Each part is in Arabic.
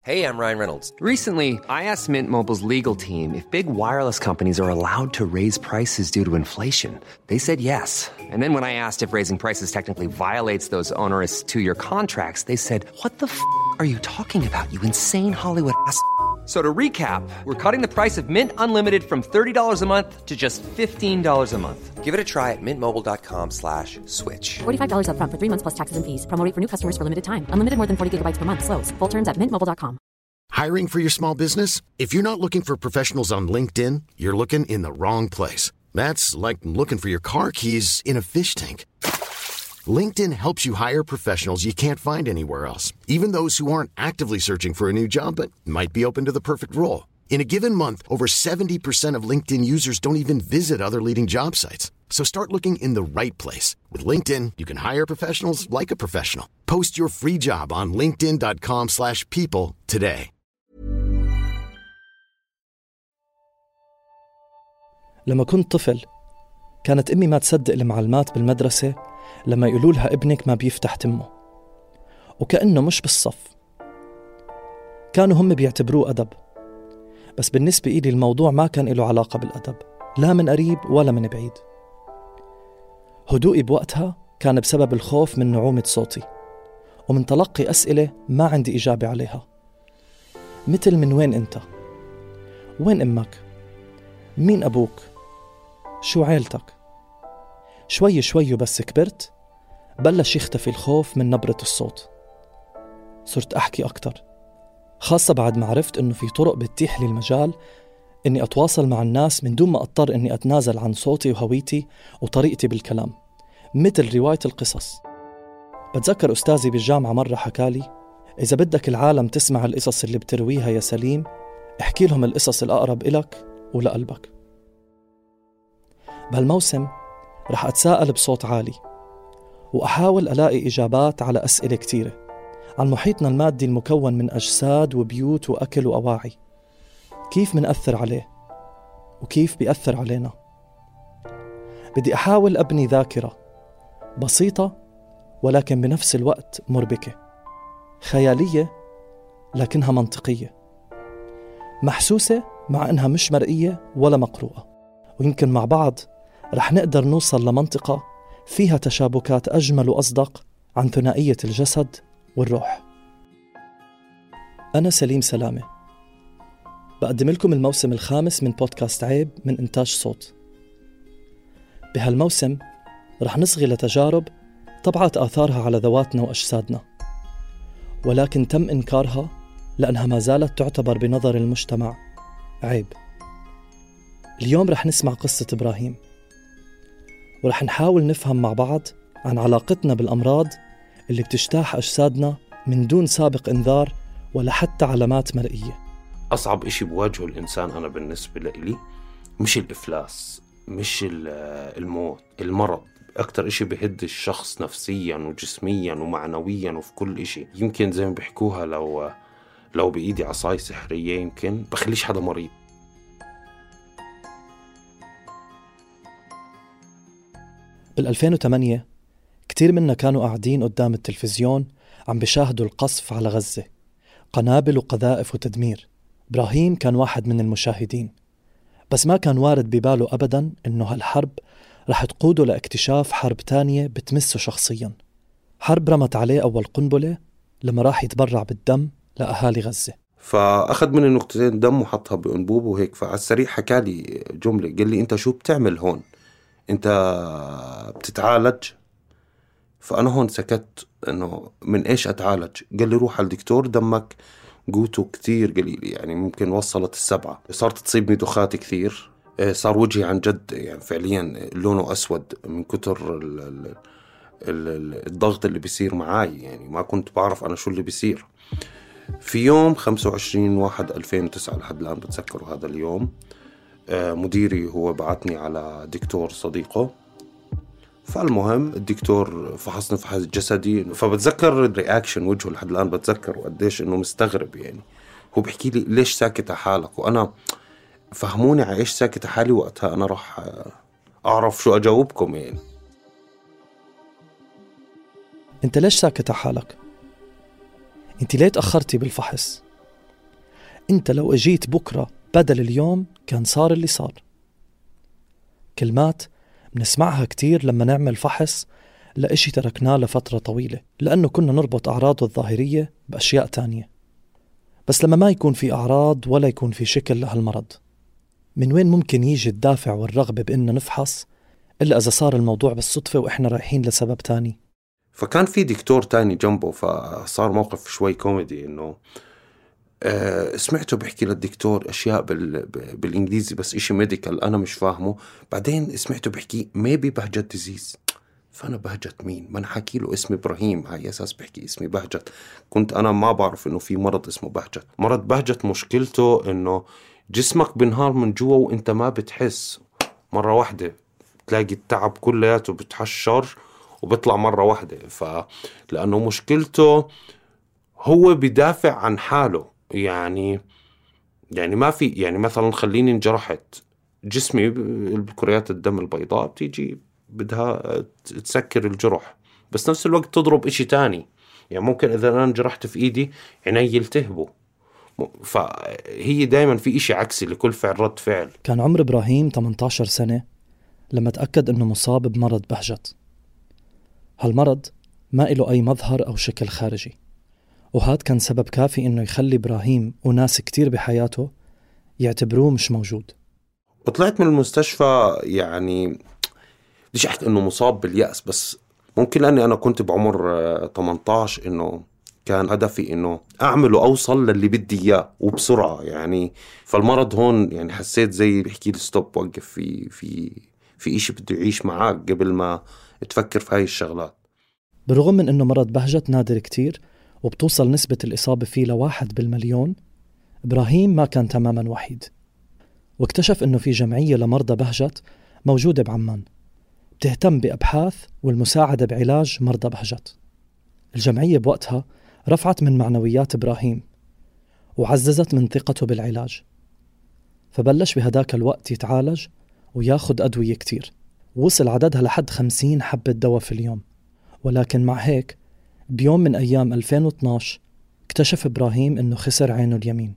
Hey, I'm Ryan Reynolds. Recently, I asked Mint Mobile's legal team if big wireless companies are allowed to raise prices due to inflation. They said yes. And then when I asked if raising prices technically violates those onerous two-year contracts, they said, "What the are you talking about, you insane Hollywood ass?" So to recap, we're cutting the price of Mint Unlimited from $30 a month to just $15 a month. Give it a try at mintmobile.com/switch. $45 up front for 3 months plus taxes and fees. Promo rate for new customers for limited time. Unlimited more than 40 gigabytes per month. Slows full terms at mintmobile.com. Hiring for your small business? If you're not looking for professionals on LinkedIn, you're looking in the wrong place. That's like looking for your car keys in a fish tank. LinkedIn helps you hire professionals you can't find anywhere else, even those who aren't actively searching for a new job but might be open to the perfect role. In a given month, over 70% of LinkedIn users don't even visit other leading job sites. So start looking in the right place. With LinkedIn, you can hire professionals like a professional. Post your free job on linkedin.com/people today. لما كنت طفل كانت أمي ما تصدق المعلمات بالمدرسة لما يقولوا لها ابنك ما بيفتح تمه، وكأنه مش بالصف. كانوا هم بيعتبروه أدب، بس بالنسبة إلي الموضوع ما كان له علاقة بالأدب، لا من قريب ولا من بعيد. هدوئي بوقتها كان بسبب الخوف من نعومة صوتي ومن تلقي أسئلة ما عندي إجابة عليها، مثل من وين أنت؟ وين أمك؟ مين أبوك؟ شو عيلتك؟ شوي شوي بس كبرت بلش يختفي الخوف من نبرة الصوت. صرت أحكي أكتر، خاصة بعد ما عرفت إنه في طرق بتتيح لي المجال إني أتواصل مع الناس من دون ما أضطر إني أتنازل عن صوتي وهويتي وطريقتي بالكلام، مثل رواية القصص. بتذكر أستاذي بالجامعة مرة حكالي: إذا بدك العالم تسمع القصص اللي بترويها يا سليم، احكي لهم القصص الأقرب إلك ولقلبك. بهالموسم رح أتساءل بصوت عالي وأحاول ألاقي إجابات على أسئلة كتيرة عن محيطنا المادي المكون من أجساد وبيوت وأكل وأواعي. كيف منأثر عليه وكيف بيأثر علينا؟ بدي أحاول أبني ذاكرة بسيطة ولكن بنفس الوقت مربكة، خيالية لكنها منطقية، محسوسة مع أنها مش مرئية ولا مقروءة. ويمكن مع بعض رح نقدر نوصل لمنطقة فيها تشابكات أجمل وأصدق عن ثنائية الجسد والروح. أنا سليم سلامة، بقدم لكم الموسم الخامس من بودكاست عيب من إنتاج صوت. بهالموسم رح نصغي لتجارب طبعت آثارها على ذواتنا وأجسادنا، ولكن تم إنكارها لأنها ما زالت تعتبر بنظر المجتمع عيب. اليوم رح نسمع قصة إبراهيم، ورح نحاول نفهم مع بعض عن علاقتنا بالأمراض اللي بتجتاح أجسادنا من دون سابق إنذار ولا حتى علامات مرئية. أصعب إشي بواجهه الإنسان أنا بالنسبة لي مش الإفلاس، مش الموت، المرض. أكتر إشي بيهد الشخص نفسيا وجسميا ومعنويا وفي كل إشي. يمكن زي ما بيحكوها لو بإيدي عصاي سحرية يمكن بخليش حدا مريض. بال2008 كتير منا كانوا قاعدين قدام التلفزيون عم بيشاهدوا القصف على غزة، قنابل وقذائف وتدمير. إبراهيم كان واحد من المشاهدين، بس ما كان وارد بباله أبداً إنه هالحرب رح تقوده لاكتشاف حرب تانية بتمسه شخصياً، حرب رمت عليه أول قنبلة لما راح يتبرع بالدم لأهالي غزة. فأخذ مني نقطتين دم وحطها بأنبوب وهيك. فعلى السريع حكالي جملة، قال لي: أنت شو بتعمل هون؟ أنت بتتعالج؟ فأنا هون سكت إنه من إيش أتعالج؟ قال لي: روح على الدكتور، دمك قوته كتير قليل، يعني ممكن وصلت 7. صارت تصيبني دخات كثير، صار وجهي عن جد يعني فعليا لونه أسود من كتر الضغط اللي بيصير معاي. يعني ما كنت بعرف أنا شو اللي بيصير. في يوم 25/1/2009 لحد الآن بتذكره هذا اليوم، مديري هو بعتني على دكتور صديقه. فالمهم الدكتور فحصني فحص جسدي، فبتذكر الرياكشن وجهه لحد الآن بتذكر، وقديش إنه مستغرب. يعني هو بيحكي لي: ليش ساكت حالك؟ وأنا فهموني على إيش ساكت حالي. وقتها أنا راح أعرف شو أجاوبكم. يعني أنت ليش ساكت حالك؟ أنت ليه تأخرتي بالفحص؟ أنت لو أجيت بكرة بدل اليوم كان صار اللي صار. كلمات بنسمعها كتير لما نعمل فحص لإشي تركناه لفترة طويلة لأنه كنا نربط أعراضه الظاهرية بأشياء تانية. بس لما ما يكون في أعراض ولا يكون في شكل لهالمرض، من وين ممكن يجي الدافع والرغبة بإنه نفحص إلا إذا صار الموضوع بالصدفة وإحنا رايحين لسبب تاني؟ فكان في دكتور تاني جنبه، فصار موقف شوي كوميدي إنه سمعته بحكي للدكتور أشياء بالإنجليزي بس إشي ميديكال أنا مش فاهمه. بعدين سمعته بحكي maybe بهجت disease. فأنا بهجت مين؟ ما أنا حكي له اسمي إبراهيم، هاي أساس بحكي اسمي بهجت. كنت أنا ما بعرف إنه في مرض اسمه بهجت. مرض بهجت مشكلته إنه جسمك بنهار من جوا وإنت ما بتحس، مرة واحدة تلاقي التعب كلياته بتحشر وبيطلع مرة واحدة. فلأنه مشكلته هو بدافع عن حاله، يعني ما في، يعني مثلا خليني انجرحت جسمي بكريات الدم البيضاء بتيجي بدها تسكر الجرح، بس نفس الوقت تضرب إشي تاني. يعني ممكن إذا أنا انجرحت في إيدي عيني يلتهبوا. فهي دايما في إشي عكسي لكل فعل رد فعل. كان عمر إبراهيم 18 سنة لما تأكد أنه مصاب بمرض بهجت. هالمرض ما إله أي مظهر أو شكل خارجي، وهذا كان سبب كافي إنه يخلي إبراهيم وناس كتير بحياته يعتبروه مش موجود. وطلعت من المستشفى، يعني بديش أحكي إنه مصاب باليأس، بس ممكن لأني أنا كنت بعمر 18 إنه كان هدفي إنه أعمل وأوصل للي بدي إياه وبسرعة. يعني فالمرض هون يعني حسيت زي بحكي لي ستوب، وقف في إشي بده يعيش معاك قبل ما تفكر في هاي الشغلات. بالرغم من إنه مرض بهجت نادر كتير وبتوصل نسبة الإصابة فيه ل1 بالمليون، إبراهيم ما كان تماماً وحيد، واكتشف إنه في جمعية لمرضى بهجت موجودة بعمان بتهتم بأبحاث والمساعدة بعلاج مرضى بهجت. الجمعية بوقتها رفعت من معنويات إبراهيم وعززت من ثقته بالعلاج، فبلش بهداك الوقت يتعالج وياخد أدوية كتير، وصل عددها لحد 50 حبة دواء في اليوم. ولكن مع هيك بيوم من أيام 2012 اكتشف إبراهيم إنه خسر عينه اليمين.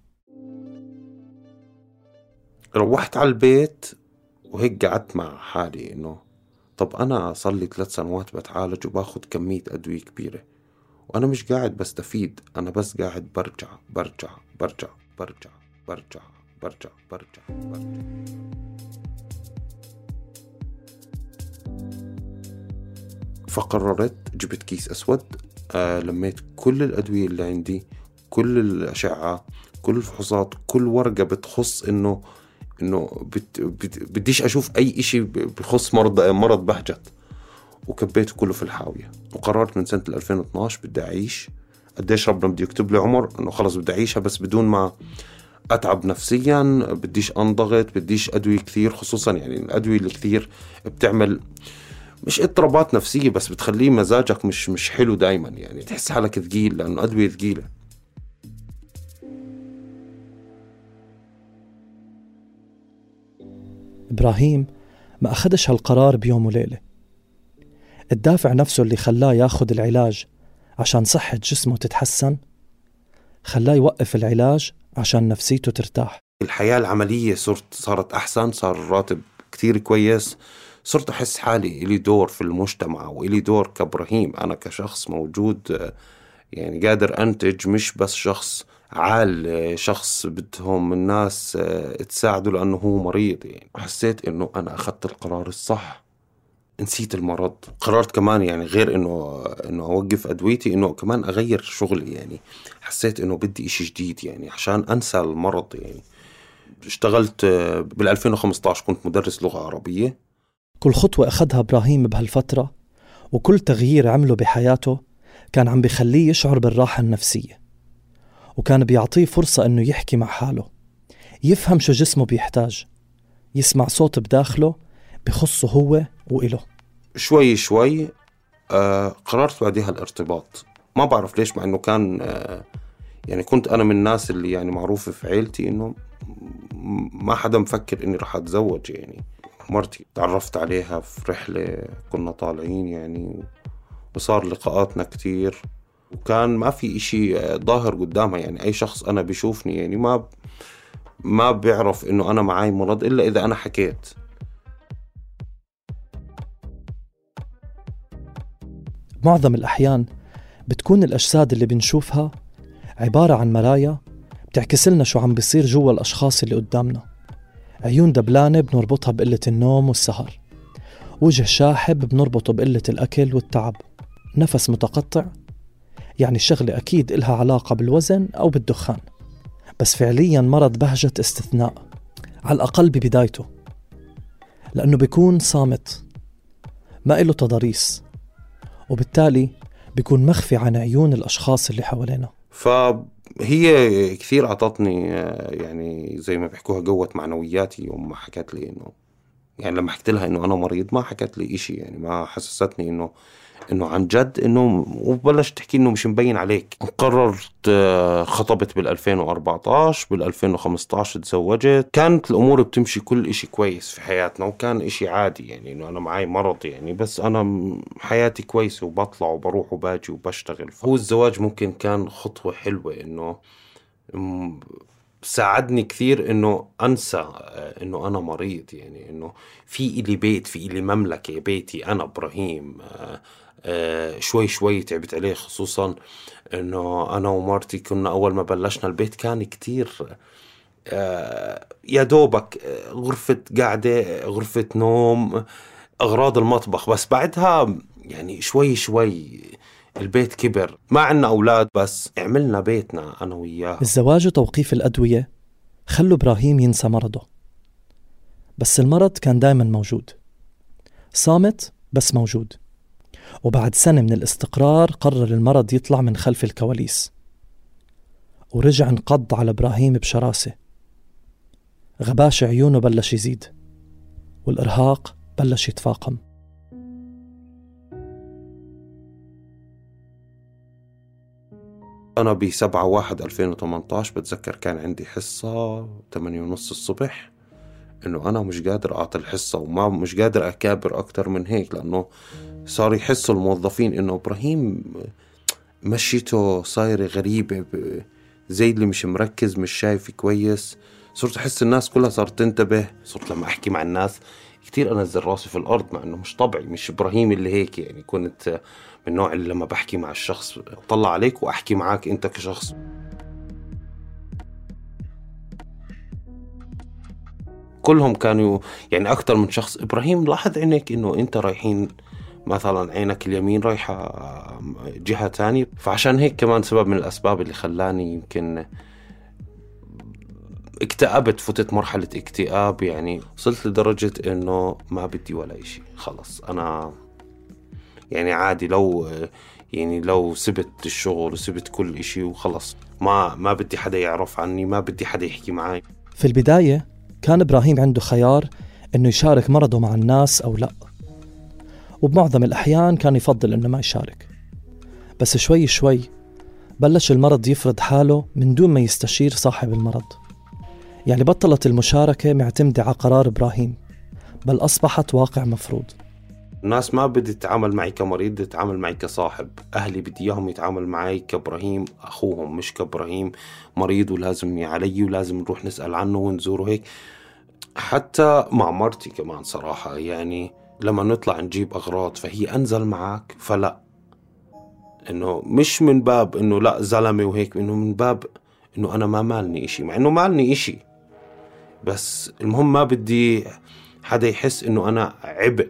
روحت على البيت وهيك قعدت مع حالي إنه طب أنا صار لي 3 سنوات بتعالج وباخد كمية أدوية كبيرة وأنا مش قاعد بستفيد، أنا بس قاعد برجع برجع برجع برجع برجع برجع برجع برجع. فقررت جبت كيس أسود، لميت كل الأدوية اللي عندي، كل الأشعة، كل الفحوصات، كل ورقة بتخص إنه بديش أشوف أي إشي بخص مرض بهجت، وكبيته كله في الحاوية. وقررت من سنة 2012 بدي أعيش. قديش ربنا بدي يكتب لي عمر إنه خلص بدي أعيشها، بس بدون ما أتعب نفسيا، بديش أنضغط، بديش أدوية كثير، خصوصا يعني الأدوية الكثير بتعمل مش اضطرابات نفسية بس بتخليه مزاجك مش حلو دايما، يعني تحس حالك ثقيل لأنه أدوية ثقيلة. إبراهيم ما أخدش هالقرار بيوم وليلة. الدافع نفسه اللي خلاه ياخد العلاج عشان صحة جسمه تتحسن خلاه يوقف العلاج عشان نفسيته ترتاح. الحياة العملية صارت أحسن، صار الراتب كتير كويس، صرت أحس حالي إلي دور في المجتمع وإلي دور كإبراهيم، أنا كشخص موجود يعني قادر أنتج، مش بس شخص عال، شخص بدهم الناس تساعده لأنه هو مريض. يعني حسيت إنه أنا أخذت القرار الصح، نسيت المرض. قررت كمان يعني غير إنه أوقف أدويتي، إنه كمان أغير شغلي. يعني حسيت إنه بدي إشي جديد يعني عشان أنسى المرض. يعني اشتغلت بال2015 كنت مدرس لغة عربية. كل خطوة أخذها إبراهيم بهالفترة وكل تغيير عمله بحياته كان عم بيخليه يشعر بالراحة النفسية، وكان بيعطيه فرصة إنه يحكي مع حاله، يفهم شو جسمه بيحتاج، يسمع صوت بداخله بخصه هو وإله. شوي شوي قررت بعدها الارتباط. ما بعرف ليش، مع إنه كان يعني كنت أنا من الناس اللي يعني معروفة في عيلتي إنه ما حدا مفكر إني رح أتزوج. يعني مرتي تعرفت عليها في رحلة كنا طالعين يعني، وصار لقاءاتنا كتير، وكان ما في إشي ظاهر قدامها. يعني أي شخص أنا بيشوفني يعني ما بيعرف إنه أنا معاي مرض إلا إذا أنا حكيت. معظم الأحيان بتكون الأجساد اللي بنشوفها عبارة عن مرايا بتعكس لنا شو عم بيصير جوا الأشخاص اللي قدامنا. عيون دبلانة بنربطها بقلة النوم والسهر، وجه شاحب بنربطه بقلة الأكل والتعب، نفس متقطع يعني الشغلة أكيد إلها علاقة بالوزن أو بالدخان، بس فعلياً مرض بهجة استثناء على الأقل ببدايته، لأنه بيكون صامت ما إله تضاريس، وبالتالي بيكون مخفي عن عيون الأشخاص اللي حوالينا. فهي كثير عطتني يعني زي ما بيحكوها قوة معنوياتي يوم ما حكت لي إنه، يعني لما حكيت لها إنه أنا مريض ما حكت لي إشي، يعني ما حسستني إنه عن جد إنه، وبلش تحكي إنه مش مبين عليك. قررت خطبت بال2014، بال2015 تزوجت. كانت الأمور بتمشي كل إشي كويس في حياتنا، وكان إشي عادي يعني إنه أنا معي مرض يعني، بس أنا حياتي كويسة وبطلع وبروح وباجي وبشتغل. هو الزواج ممكن كان خطوة حلوة إنه ساعدني كثير إنه أنسى إنه أنا مريض، يعني إنه في إلي بيت، في إلي مملكة، بيتي أنا إبراهيم. شوي شوي تعبت عليه، خصوصا إنه أنا ومارتي كنا أول ما بلشنا البيت كان كتير يا دوبك غرفة قاعدة، غرفة نوم، أغراض المطبخ. بس بعدها يعني شوي شوي البيت كبر، ما عنا أولاد بس عملنا بيتنا أنا وياه. الزواج وتوقيف الأدوية خلوا إبراهيم ينسى مرضه، بس المرض كان دايما موجود، صامت بس موجود. وبعد سنة من الاستقرار قرر المرض يطلع من خلف الكواليس، ورجع انقض على إبراهيم بشراسة. غباش عيونه بلش يزيد، والإرهاق بلش يتفاقم. أنا ب7/1/2018 بتذكر كان عندي حصة 8:30 الصبح، إنه أنا مش قادر أعطي الحصة وما مش قادر أكابر أكتر من هيك، لأنه صار يحسوا الموظفين إنه إبراهيم مشيته صايرة غريبة، زي اللي مش مركز، مش شايف كويس. صرت أحس الناس كلها صارت تنتبه. صرت لما أحكي مع الناس كتير أنزل راسي في الأرض، مع إنه مش طبعي، مش إبراهيم اللي هيك. يعني كنت من النوع اللي لما بحكي مع الشخص أطلع عليك وأحكي معاك أنت كشخص. كلهم كانوا يعني أكتر من شخص، إبراهيم لاحظ عينك إنه أنت رايحين مثلا، عينك اليمين رايحة جهة تانية. فعشان هيك كمان سبب من الأسباب اللي خلاني يمكن اكتئبت، فتت مرحلة اكتئاب. يعني وصلت لدرجة إنه ما بدي ولا إشي، خلص أنا يعني عادي لو سبت الشغل وسبت كل إشي وخلص، ما بدي حدا يعرف عني، ما بدي حدا يحكي معي. في البداية كان إبراهيم عنده خيار إنه يشارك مرضه مع الناس أو لا، وبمعظم الأحيان كان يفضل إنه ما يشارك. بس شوي شوي بلش المرض يفرض حاله من دون ما يستشير صاحب المرض. يعني بطلت المشاركة معتمدة على قرار إبراهيم، بل أصبحت واقع مفروض. الناس ما بدي تتعامل معي كمريض، بدي تتعامل معي كصاحب. أهلي بدي إياهم يتعامل معي كإبراهيم أخوهم، مش كإبراهيم مريض ولازم علي ولازم نروح نسأل عنه ونزوره هيك. حتى مع مرتي كمان صراحة، يعني لما نطلع نجيب أغراض فهي أنزل معك، فلا، إنه مش من باب إنه لا زلمة وهيك، إنه من باب إنه أنا ما مالني إشي، مع إنه مالني إشي، بس المهم ما بدي حدا يحس إنه أنا عبء.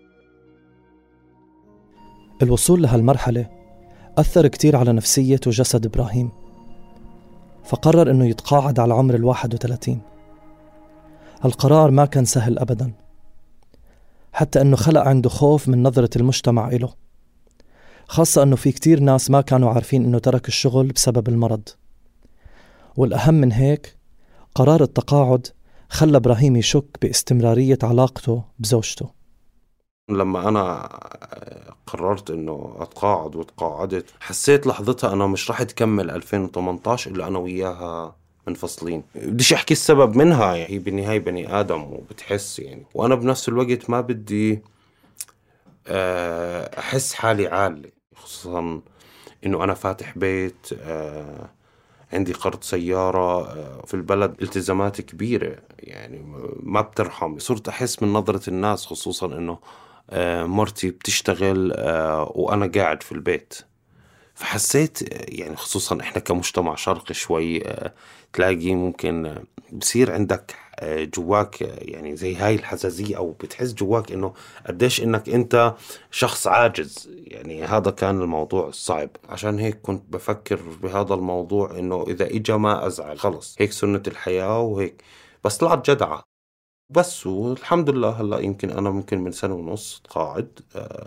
الوصول لهالمرحلة أثر كتير على نفسية وجسد إبراهيم، فقرر إنه يتقاعد على عمر 31. هالقرار ما كان سهل أبداً، حتى إنه خلق عنده خوف من نظرة المجتمع إله، خاصة إنه في كتير ناس ما كانوا عارفين إنه ترك الشغل بسبب المرض. والأهم من هيك، قرار التقاعد خلى إبراهيم يشك باستمرارية علاقته بزوجته. لما أنا قررت إنه أتقاعد وتقاعدت، حسيت لحظتها أنا مش راح تكمل 2018 إلا أنا وياها منفصلين. بديش أحكي السبب منها، هي بالنهاية بني آدم وبتحس يعني، وأنا بنفس الوقت ما بدي أحس حالي عالي، خصوصا إنه أنا فاتح بيت، عندي قرض سيارة، في البلد التزامات كبيرة يعني ما بترحم. صرت أحس من نظرة الناس خصوصا إنه مرتي بتشتغل وأنا قاعد في البيت. فحسيت يعني خصوصا إحنا كمجتمع شرقي شوي تلاقي ممكن بصير عندك جواك يعني زي هاي الحساسية، أو بتحس جواك إنه قديش إنك أنت شخص عاجز. يعني هذا كان الموضوع الصعب، عشان هيك كنت بفكر بهذا الموضوع إنه إذا إجا ما أزعل، خلص هيك سنة الحياة وهيك. بس طلعت جدعة بس، والحمد لله هلأ يمكن أنا ممكن من سنة ونص قاعد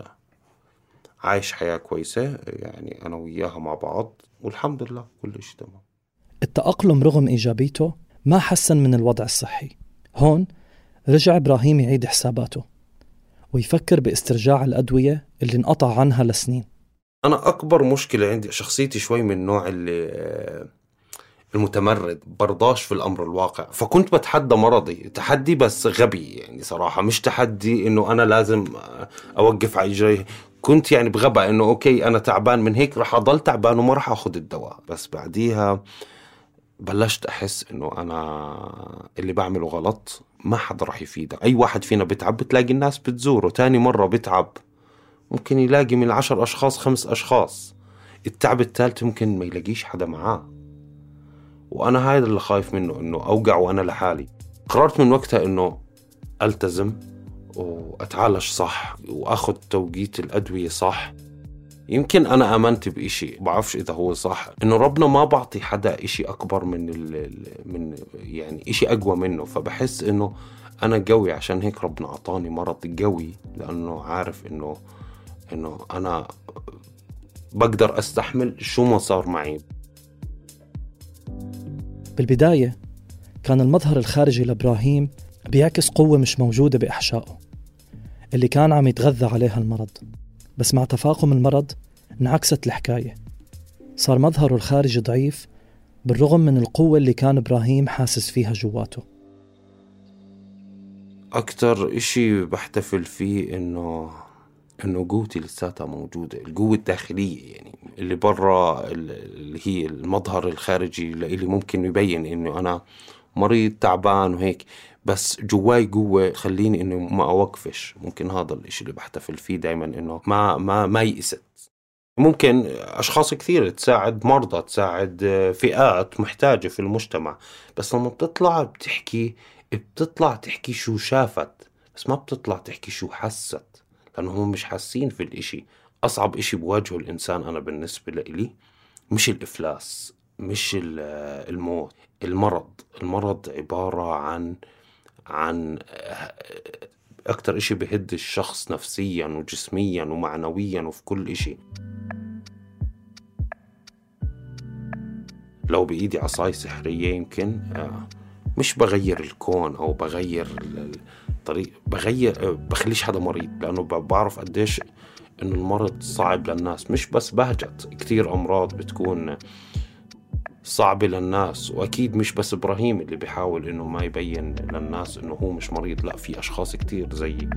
عايش حياة كويسة يعني أنا وياها مع بعض، والحمد لله كل شيء تمام. التأقلم رغم إيجابيته ما حسن من الوضع الصحي. هون رجع إبراهيم يعيد حساباته ويفكر باسترجاع الأدوية اللي انقطع عنها لسنين. أنا أكبر مشكلة عندي شخصيتي شوي من النوع اللي المتمرد، برضاش في الأمر الواقع. فكنت بتحدى مرضي تحدي بس غبي يعني صراحة، مش تحدي إنه أنا لازم أوقف على إجري. كنت يعني بغباء إنه أوكي أنا تعبان من هيك رح أضل تعبان وما رح أخذ الدواء. بس بعديها بلشت أحس إنه أنا اللي بعمله غلط، ما حدا رح يفيدك. أي واحد فينا بتعب بتلاقي الناس بتزوره، تاني مرة بتعب ممكن يلاقي من 10 أشخاص 5 أشخاص، التعب الثالث ممكن ما يلاقيش حدا معاه. وأنا هذا اللي خايف منه، إنه أوقع وأنا لحالي. قررت من وقتها إنه ألتزم وأتعالج صح وأخذ توقيت الأدوية صح. يمكن أنا آمنت بإشي بعرفش إذا هو صح، إنه ربنا ما بعطي حدا إشي أكبر من يعني إشي أقوى منه. فبحس إنه أنا قوي، عشان هيك ربنا عطاني مرض قوي، لأنه عارف إنه أنا بقدر أستحمل شو ما صار معي. بالبداية كان المظهر الخارجي لإبراهيم بيعكس قوة مش موجودة بإحشائه اللي كان عم يتغذى عليها المرض. بس مع تفاقم المرض انعكست الحكاية، صار مظهره الخارجي ضعيف بالرغم من القوة اللي كان إبراهيم حاسس فيها جواته. أكتر إشي بحتفل فيه إنه قوتي لساتها موجودة، القوة الداخلية يعني اللي برا اللي هي المظهر الخارجي اللي ممكن يبين إنه أنا مريض تعبان وهيك، بس جواي قوة تخليني إنه ما أوقفش. ممكن هذا الإشي اللي بحتفل فيه دايما، إنه ما يئست. ممكن أشخاص كثير تساعد مرضى، تساعد فئات محتاجة في المجتمع، بس لما بتطلع تحكي شو شافت، بس ما بتطلع تحكي شو حست، لأنهم مش حاسين في الإشي. أصعب إشي بواجهه الإنسان أنا بالنسبة لي مش الإفلاس، مش الموت، المرض عبارة عن أكتر إشي بهد الشخص نفسيا وجسميا ومعنويا وفي كل إشي. لو بإيدي عصاي سحرية يمكن مش بغير الكون أو بغير الطريق، بخليش حدا مريض، لأنه بعرف قديش إنه المرض صعب للناس. مش بس بهجت، كتير أمراض بتكون صعبة للناس، وأكيد مش بس إبراهيم اللي بيحاول إنه ما يبين للناس إنه هو مش مريض، لا في أشخاص كتير زيي.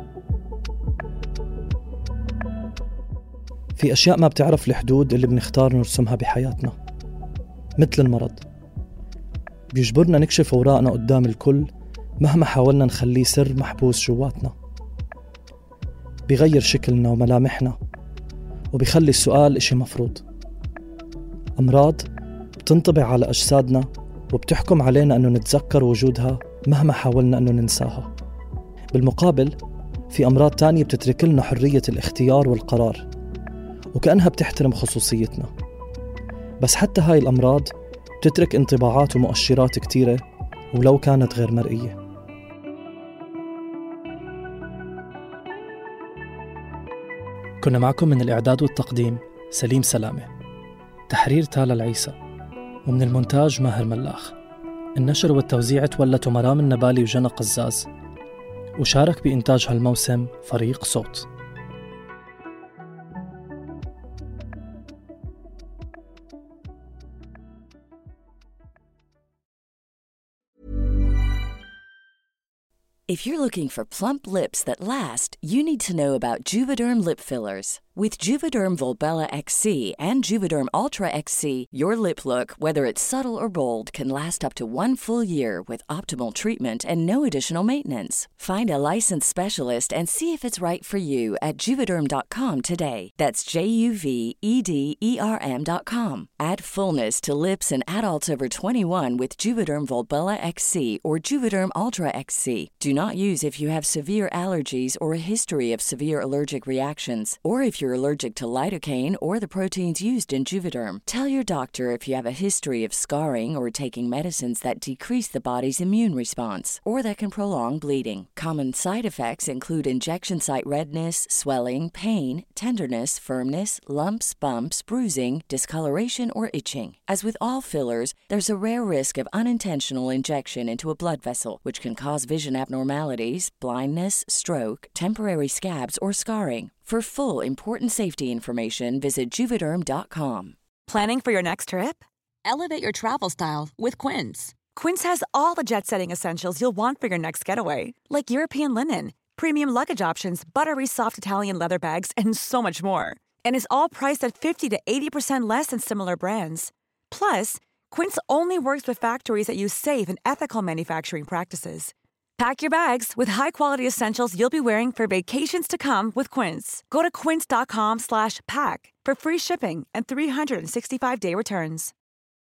في أشياء ما بتعرف الحدود اللي بنختار نرسمها بحياتنا، مثل المرض بيجبرنا نكشف أوراقنا قدام الكل مهما حاولنا نخليه سر محبوس جواتنا. بيغير شكلنا وملامحنا وبيخلي السؤال إشي مفروض. أمراض بتنطبع على أجسادنا وبتحكم علينا أنه نتذكر وجودها مهما حاولنا أنه ننساها. بالمقابل في أمراض تانية بتترك لنا حرية الاختيار والقرار وكأنها بتحترم خصوصيتنا، بس حتى هاي الأمراض بتترك انطباعات ومؤشرات كتيرة ولو كانت غير مرئية. كنا معكم من الإعداد والتقديم سليم سلامة، تحرير تالا العيسى، ومن المونتاج ماهر ملاخ. النشر والتوزيع تولته مرام النبالي وجنى قزاز، وشارك بإنتاج هالموسم فريق صوت. If you're looking for plump lips that last, you need to know about Juvederm lip fillers. With Juvederm Volbella XC and Juvederm Ultra XC, your lip look, whether it's subtle or bold, can last up to 1 full year with optimal treatment and no additional maintenance. Find a licensed specialist and see if it's right for you at Juvederm.com today. That's JUVEDERM.com. Add fullness to lips in adults over 21 with Juvederm Volbella XC or Juvederm Ultra XC. Do not use if you have severe allergies or a history of severe allergic reactions, or if you're allergic to lidocaine or the proteins used in Juvederm. Tell your doctor if you have a history of scarring or taking medicines that decrease the body's immune response or that can prolong bleeding. Common side effects include injection site redness, swelling, pain, tenderness, firmness, lumps, bumps, bruising, discoloration, or itching. As with all fillers, there's a rare risk of unintentional injection into a blood vessel, which can cause vision abnormalities, blindness, stroke, temporary scabs, or scarring. For full, important safety information, visit Juvederm.com. Planning for your next trip? Elevate your travel style with Quince. Quince has all the jet-setting essentials you'll want for your next getaway, like European linen, premium luggage options, buttery soft Italian leather bags, and so much more. And is all priced at 50 to 80% less than similar brands. Plus, Quince only works with factories that use safe and ethical manufacturing practices. Pack your bags with high-quality essentials you'll be wearing for vacations to come with Quince. Go to quince.com/pack for free shipping and 365-day returns.